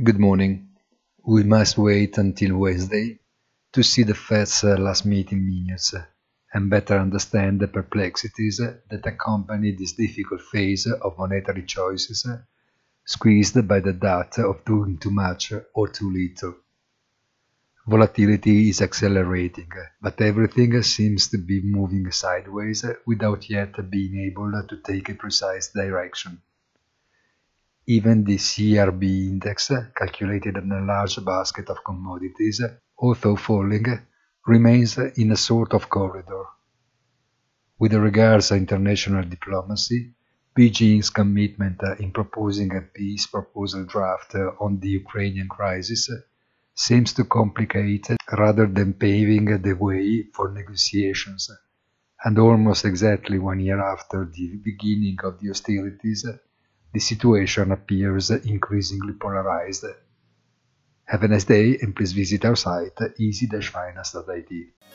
Good morning. We must wait until Wednesday to see the Fed's last meeting minutes and better understand the perplexities that accompany this difficult phase of monetary choices, squeezed by the doubt of doing too much or too little. Volatility is accelerating, but everything seems to be moving sideways without yet being able to take a precise direction. Even the CRB index, calculated on a large basket of commodities, although falling, remains in a sort of corridor. With regards to international diplomacy, Beijing's commitment in proposing a peace proposal draft on the Ukrainian crisis seems to complicate rather than paving the way for negotiations, and almost exactly 1 year after the beginning of the hostilities, the situation appears increasingly polarized. Have a nice day and please visit our site easy-finance.it.